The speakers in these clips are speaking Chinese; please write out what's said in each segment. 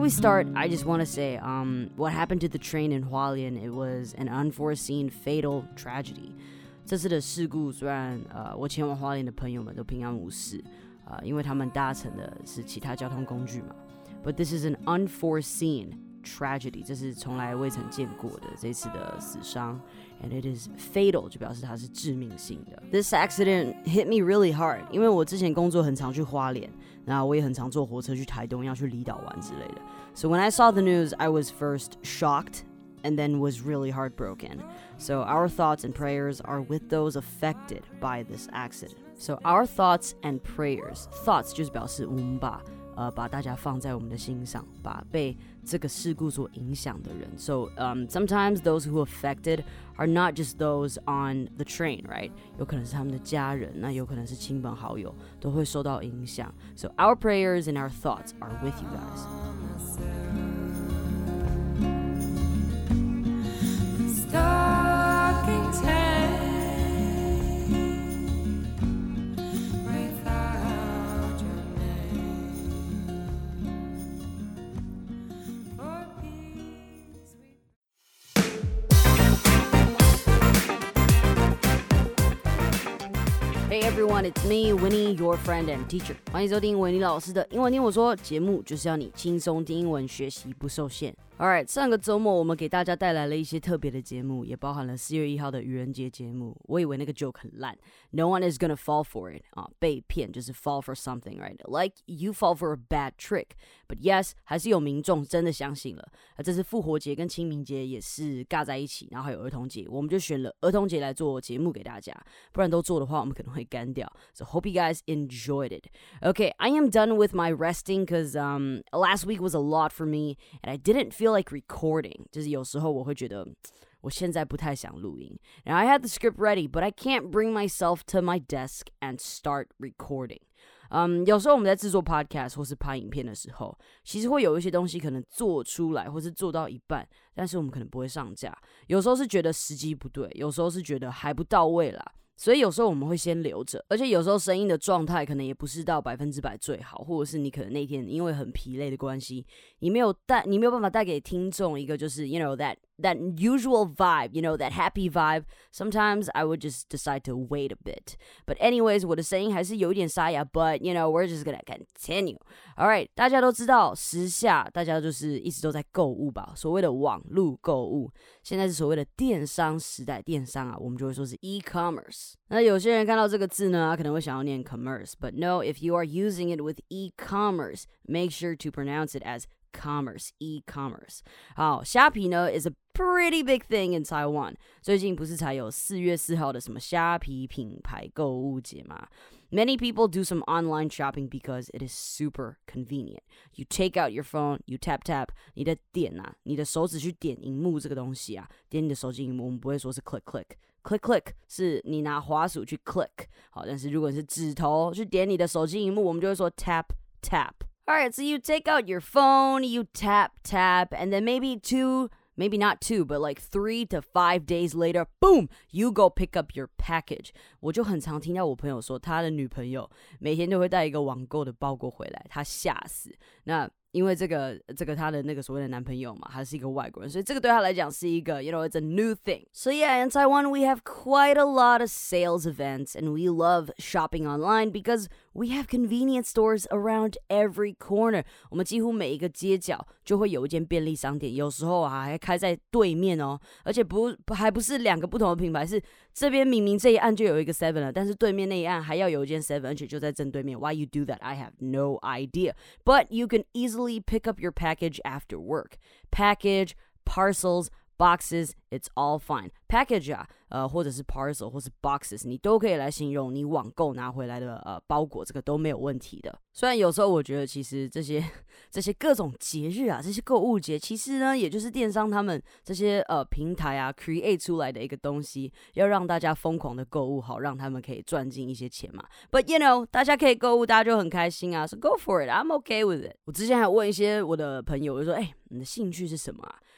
we start, I just want to say, what happened to the train in Hualien, it was an unforeseen fatal tragedy. 这次的事故虽然我前往花莲的朋友们都平安无事，因为他们搭乘的是其他交通工具嘛。But this is an unforeseen tragedy， 这是从来未曾见过的这次的死伤。And it is fatal， 就表示它是致命性的。This accident hit me really hard， 因为我之前工作很常去花莲，那我也很常坐火车去台东，要去离岛玩之类的。So when I saw the news, I was first shocked.And then was really heartbroken. So our thoughts and prayers are with those affected by this accident. So our thoughts and prayers. Thoughts 就是表示我们把大家放在我们的心上，把被这个事故所影响的人。So sometimes those who affected are not just those on the train, right? 有可能是他们的家人，那有可能是亲朋好友，都会受到影响。So our prayers and our thoughts are with you guys.Hey everyone, it's me, Winnie, your friend and teacher. 欢迎收听维尼老师的英文听我说，节目就是要你轻松听英文，学习不受限。Alright， 上个周末我们给大家带来了一些特别的节目，也包含了4月1号的愚人节节目。我以为那个 joke 很烂 ，No one is gonna fall for it 被骗就是 fall for something, right? Like you fall for a bad trick. But yes， 还是有民众真的相信了。这次复活节跟清明节也是尬在一起，然后还有儿童节，我们就选了儿童节来做节目给大家，不然都做的话，我们可能会干掉。So hope you guys enjoyed it. Okay, I am done with my resting because last week was a lot for me, and I didn't feel like recording. 就是有时候我会觉得我现在不太想录音。And I had the script ready, but I can't bring myself to my desk and start recording. 有时候我们在制作 podcast 或是拍影片的时候，其实会有一些东西可能做出来或是做到一半，但是我们可能不会上架。有时候是觉得时机不对，有时候是觉得还不到位啦。所以有时候我们会先留着，而且有时候声音的状态可能也不是到100%最好，或者是你可能那天因为很疲累的关系，你没有办法带给听众一个就是 you know that usual vibe, you know, that happy vibe. Sometimes I would just decide to wait a bit. But anyways, 我的声音还是有一点沙哑 but you know, we're just gonna continue. Alright, 大家都知道时下大家就是一直都在购物吧，所谓的网络购物，现在是所谓的电商时代，电商我们就会说是 e-commerce。那有些人看到这个字呢，可能会想要念 commerce, but no, if you are using it with e-commerce, make sure to pronounce it as commerce, e-commerce. 好，虾皮呢 is a pretty big thing in Taiwan. 最近不是才有4月4号的什么虾皮品牌购物节吗？ Many people do some online shopping because it is super convenient. You take out your phone, you tap tap, 你的点你的手指去点荧幕这个东西点你的手机荧幕，我们不会说是 click click。Click click 是你拿滑鼠去 click， 好，但是如果你是指头去点你的手机荧幕，我们就会说 tap tap。Alright, so you take out your phone, you tap tap, and then maybe not 2, but like 3 to 5 days later, boom, you go pick up your package. 我就很常听到我朋友说，他的女朋友每天都会带一个网购的包裹回来，他吓死。那因为这个他的那个所谓的男朋友嘛，他是一个外国人，所以这个对他来讲是一个 you know, it's a new thing. So yeah, in Taiwan we have quite a lot of sales events and we love shopping online because we have convenience stores around every corner. 我们几乎每一个街角就会有一间便利商店，有时候还开在对面哦，而且还不是2个不同的品牌，是这边明明这一岸就有一个 Seven 了，但是对面那一岸还要有一间 Seven， 而且就在正对面。Why you do that? I have no idea. But you can easily pick up your package after work. Package, parcels, boxes, it's all fine. Package 或者是 parcel 或是 boxes 你都可以来形容你网购拿回来的包裹，这个都没有问题的。虽然有时候我觉得其实这些各种节日这些购物节其实呢也就是电商他们这些平台create 出来的一个东西，要让大家疯狂的购物，好让他们可以赚进一些钱嘛。But you know, 大家可以购物，大家就很开心So go for it, I'm okay with it. 我之前还问一些我的朋友，我就说你的兴趣是什么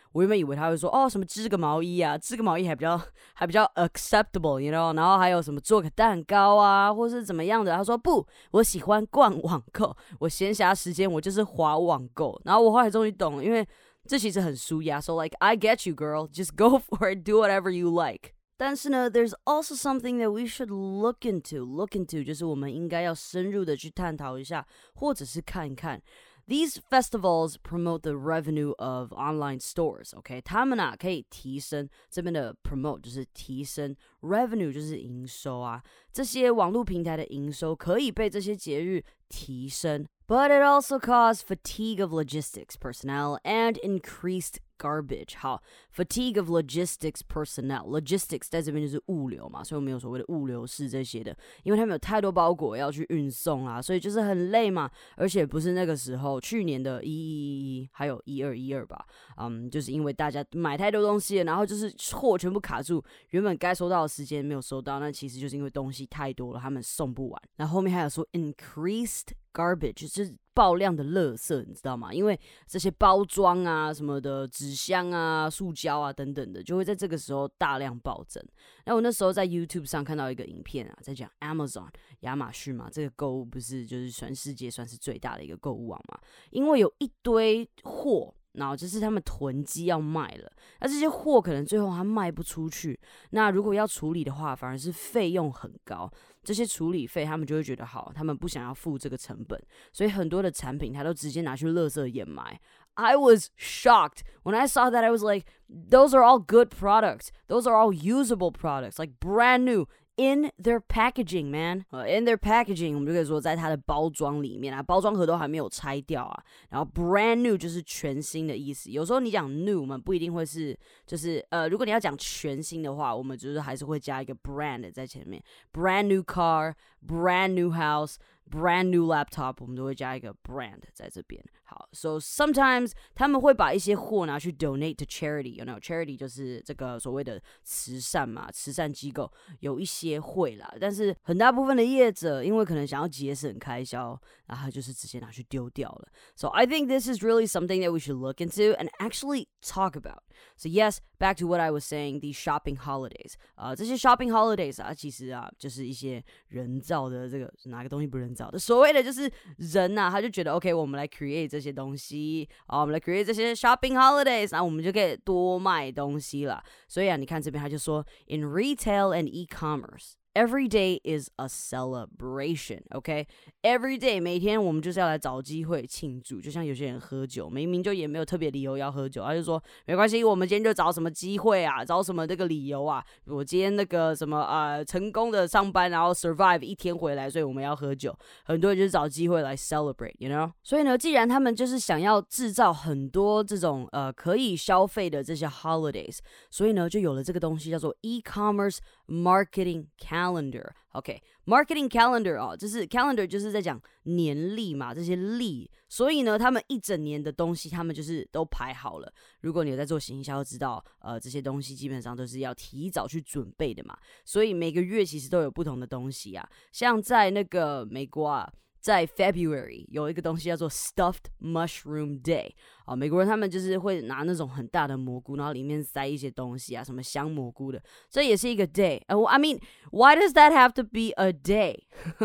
我原本以为他会说什么织个毛衣啊，织个毛衣还比较acceptable you know， 然后还有什么做个蛋糕啊，或是怎么样的。他说不，我喜欢逛网购，我闲暇时间我就是滑网购。然后我后来终于懂了，因为这其实很舒压。So like I get you girl, just go for it, do whatever you like。但是呢 there's also something that we should look into 就是我们应该要深入的去探讨一下，或者是看一看。These festivals promote the revenue of online stores, OK? 他们可以提升，这边的 promote 就是提升 revenue 就是营收啊，这些网络平台的营收可以被这些节日提升。But it also caused fatigue of logistics personnel and increased garbage. 好 fatigue of logistics personnel. Logistics 在这边就是物流嘛，所以我们有所谓的物流室这些的，因为他们有太多包裹要去运送啊，所以就是很累嘛。而且不是那个时候，去年的111还有1212吧，就是因为大家买太多东西了，然后就是货全部卡住，原本该收到的时间没有收到，那其实就是因为东西太多了，他们送不完。然后后面还有说 increased garbage 就是爆量的垃圾，你知道吗？因为这些包装啊什么的，纸箱啊、塑胶啊等等的，就会在这个时候大量暴增。那我那时候在 YouTube 上看到一个影片啊，在讲 Amazon 亚马逊嘛，这个购物不是就是全世界算是最大的一个购物网嘛？因为有一堆货。然后就是他们囤积要卖了，那这些货可能最后他卖不出去，那如果要处理的话，反而是费用很高。这些处理费他们就会觉得好，他们不想要付这个成本，所以很多的产品他都直接拿去垃圾掩埋。I was shocked when I saw that. I was like, those are all good products. Those are all usable products, like brand new.In their packaging, man. In their packaging, 我们就可以说在它的包装里面啊，包装盒都还没有拆掉啊。然后 brand new 就是全新的意思。有时候你讲 new， 我们不一定会是，就是如果你要讲全新的话，我们就是还是会加一个 brand 在前面。Brand new car, brand new house.Brand new laptop 我们都会加一个 brand 在这边。好 so sometimes 他们会把一些货拿去 donate to charity, you know, charity 就是这个所谓的慈善嘛，慈善机构有一些会啦，但是很大部分的业者因为可能想要节省开销，然后就是直接拿去丢掉了。So I think this is really something that we should look into and actually talk about. So yes, back to what I was saying, these shopping holidays. 这些 shopping holidays 啊，其实啊就是一些人造的这个哪个东西不人造的，所谓的就是人啊，他就觉得 OK， 我们来 create 这些东西，我们来 create 这些 shopping holidays， 然后我们就可以多卖东西了。所以啊，你看这边他就说 in retail and e-commerce.Every day is a celebration, OK? Every day 每天我们就是要来找机会庆祝，就像有些人喝酒，明明就也没有特别理由要喝酒，他就说没关系，我们今天就找什么机会啊，找什么这个理由啊，我今天那个什么成功的上班，然后 survive 一天回来，所以我们要喝酒。很多人就是找机会来 celebrate, you know? 所以呢，既然他们就是想要制造很多这种可以消费的这些 holidays， 所以呢就有了这个东西叫做 e-commerce marketing calendar. OK, marketing calendar 就是 calendar 就是在讲年历嘛，这些历，所以呢，他们一整年的东西，他们就是都排好了。如果你有在做行销，知道这些东西基本上都是要提早去准备的嘛，所以每个月其实都有不同的东西啊，像在那个美国啊。在 February 有一个东西叫做 Stuffed Mushroom Day 美国人他们就是会拿那种很大的蘑菇，然后里面塞一些东西啊，什么香蘑菇的，这也是一个 day. I mean, why does that have to be a day?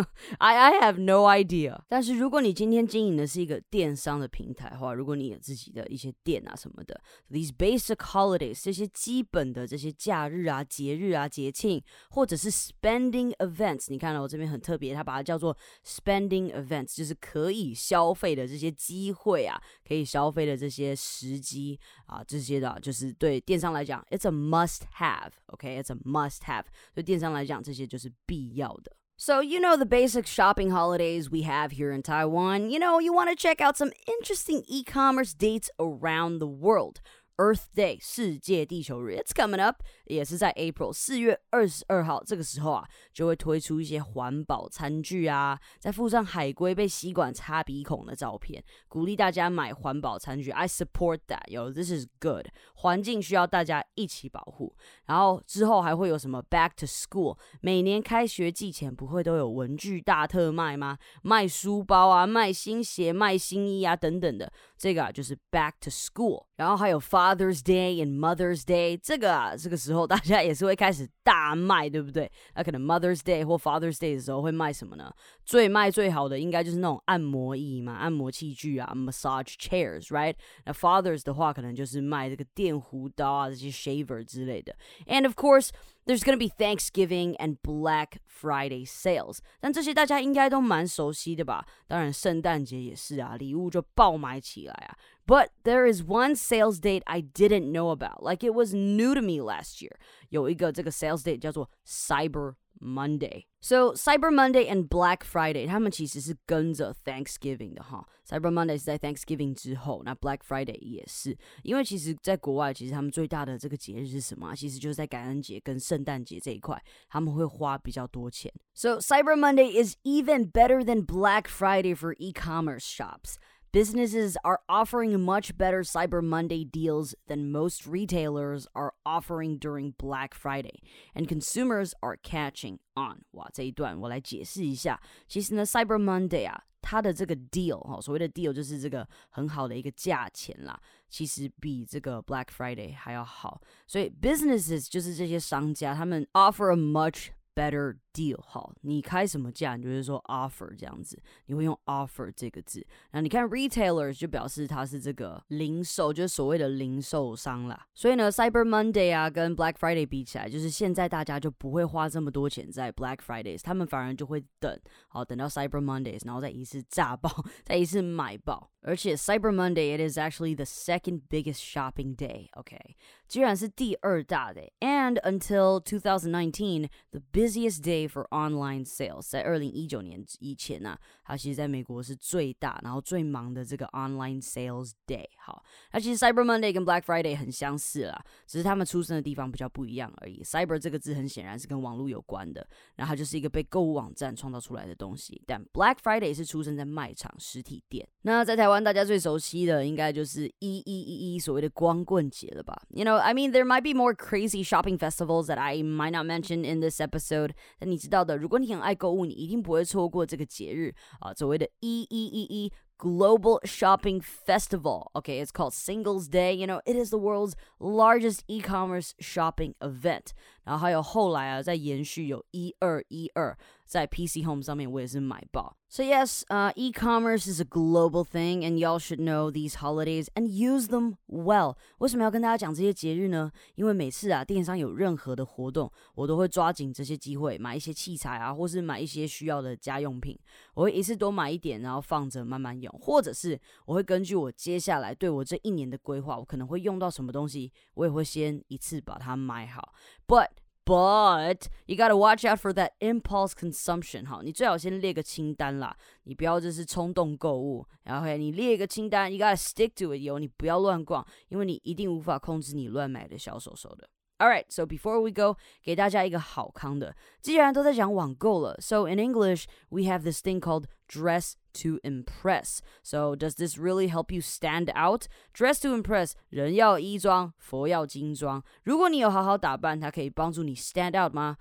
I have no idea. 但是如果你今天经营的是一个电商的平台的话，如果你有自己的一些店啊什么的 ，these basic holidays 这些基本的这些假日啊、节日啊、节庆，或者是 spending events， 你看我这边很特别，它把它叫做 spending events， 就是可以消费的这些机会啊，可以消费的这些时机啊，这些的就是对电商来讲 ，it's a must have，OK， it's a must have， 对电商来讲这些就是必要的。So, you know the basic shopping holidays we have here in Taiwan. You know, you want to check out some interesting e-commerce dates around the world.Earth Day 世界地球日 It's coming up 也是在 April 4月22号这个时候啊就会推出一些环保餐具啊再附上海龟被吸管插鼻孔的照片鼓励大家买环保餐具 I support that Yo this is good 环境需要大家一起保护然后之后还会有什么 Back to School 每年开学季前不会都有文具大特卖吗卖书包啊卖新鞋卖新衣啊等等的这个啊就是 Back to School 然后还有 Father's Day and Mother's Day， 这个时候大家也是会开始大卖，对不对？那可能 Mother's Day 或 Father's Day 的时候会卖什么呢？最卖最好的应该就是那种按摩椅嘛，按摩器具啊 ，massage chairs，right？ 那 Fathers 的话可能就是卖这个电弧刀啊，这些 shaver 之类的。And of course，there's gonna be Thanksgiving and Black Friday sales， 但这些大家应该都蛮熟悉的吧？当然，圣诞节也是啊，礼物就爆买起来啊。But there is one sales date I didn't know about, like it was new to me last year. 有一个这个 sales date 叫做 Cyber Monday。So Cyber Monday and Black Friday 他们其实是跟着 Thanksgiving 的哈。Cyber Monday 是在 Thanksgiving 之后，那 Black Friday 也是。因为其实在国外，其实他们最大的这个节日是什么？其实就是在感恩节跟圣诞节这一块，他们会花比较多钱。So Cyber Monday is even better than Black Friday for e-commerce shops.Businesses are offering much better Cyber Monday deals than most retailers are offering during Black Friday, and consumers are catching on. 哇，这一段我来解释一下。其实呢 ，Cyber Monday 啊，它的这个 deal 所谓的 deal 就是这个很好的一个价钱啦，其实比这个 Black Friday 还要好。所以 businesses 就是这些商家，他们 offer a much better deal 好，你开什么价，你就会说 offer 这样子，你会用 offer 这个字。那你看 retailers 就表示它是这个零售，就是所谓的零售商啦。所以呢 Cyber Monday 啊跟 Black Friday 比起来，就是现在大家就不会花这么多钱在 Black Fridays， 他们反而就会等到 Cyber Mondays， 然后再一次炸爆，再一次买爆。而且 Cyber Monday, it is actually the second biggest shopping day, okay? 居然是第二大的。And until 2019, the busiest day for online sales. 在2019年以前啊，它其实在美国是最大，然后最忙的这个 online sales day. 好，那其实 Cyber Monday 跟 Black Friday 很相似啦，只是他们出生的地方比较不一样而已。Cyber 这个字很显然是跟网络有关的，然后它就是一个被购物网站创造出来的东西。但 Black Friday 是出生在卖场实体店。那在台湾大家最熟悉的应该就是1111所谓的光棍节了吧 ？You know, I mean, there might be more crazy shopping festivals that I might not mention in this episode. 但你知道的，如果你很爱购物，你一定不会错过这个节日啊，所谓的1111。Global Shopping Festival. Okay, it's called Singles Day. You know, it is the world's largest e-commerce shopping event. 然后还有后来啊，在延续有1212，在 PC Home 上面我也是买爆。So yes, e-commerce is a global thing, and y'all should know these holidays and use them well. 为什么要跟大家讲这些节日呢？因为每次啊，电商有任何的活动，我都会抓紧这些机会，买一些器材啊，或是买一些需要的家用品。我会一次多买一点，然后放着慢慢用，或者是我会根据我接下来对我这一年的规划，我可能会用到什么东西，我也会先一次把它买好。But you gotta watch out for that impulse consumption. 好，你最好先列个清单啦，你不要就是冲动购物。然后你列一个清单 ，you gotta stick to it 你不要乱逛，因为你一定无法控制你乱买的小手手的。Alright, so before we go, 给大家一个好康的。既然都在讲网购了 so in English, we have this thing called dress to impress. So does this really help you stand out? Dress to impress, 人要衣装，佛要金装。如果你有好好打扮，它可以帮助你 stand out 吗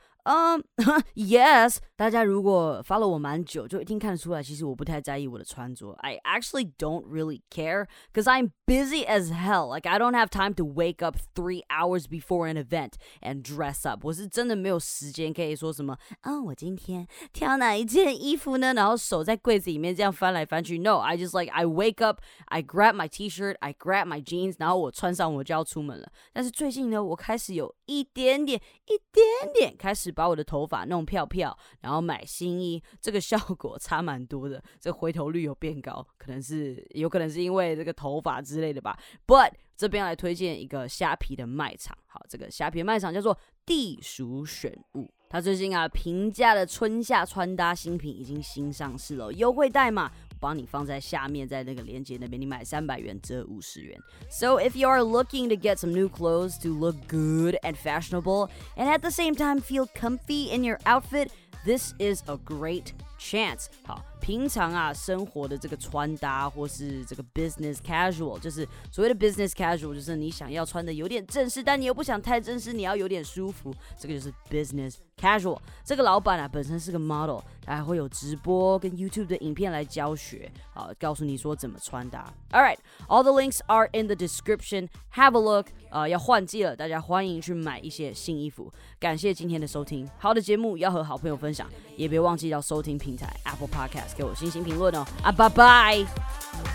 ？Yes. 大家如果 follow 我蛮久，就一定看得出来，其实我不太在意我的穿着。I actually don't really care, because I'm busy as hell. Like I don't have time to wake up 3 hours before an event and dress up. 我是真的没有时间可以说什么我今天挑哪一件衣服呢？然后手在柜子里面这样翻来翻去。No, I just I wake up, I grab my t-shirt, I grab my jeans, 然后我穿上我就要出门了。但是最近呢，我开始有一点点开始把我的头发弄漂漂，然后买新衣，这个效果差蛮多的，这个回头率有变高，有可能是因为这个头发之类的吧。But 这边来推荐一个虾皮的卖场，好，这个虾皮的卖场叫做地鼠选物。它最近啊，平价的春夏穿搭新品已经新上市了，优惠代码我帮你放在下面，在那个链接那边，你买300元折50元。So if you are looking to get some new clothes to look good and fashionable, and at the same time feel comfy in your outfit, this is a great chance. 好，平常啊生活的这个穿搭或是这个 business casual， 就是所谓的 business casual， 就是你想要穿的有点正式，但你又不想太正式，你要有点舒服，这个就是 business Casual 这个老板啊本身是个 model， 他还会有直播跟 YouTube 的影片来教学，告诉你说怎么穿搭。Alright, all the links are in the description. Have a look. 要换季了，大家欢迎去买一些新衣服。感谢今天的收听，好的节目要和好朋友分享，也别忘记到收听平台 Apple Podcast 给我星星评论哦。拜拜。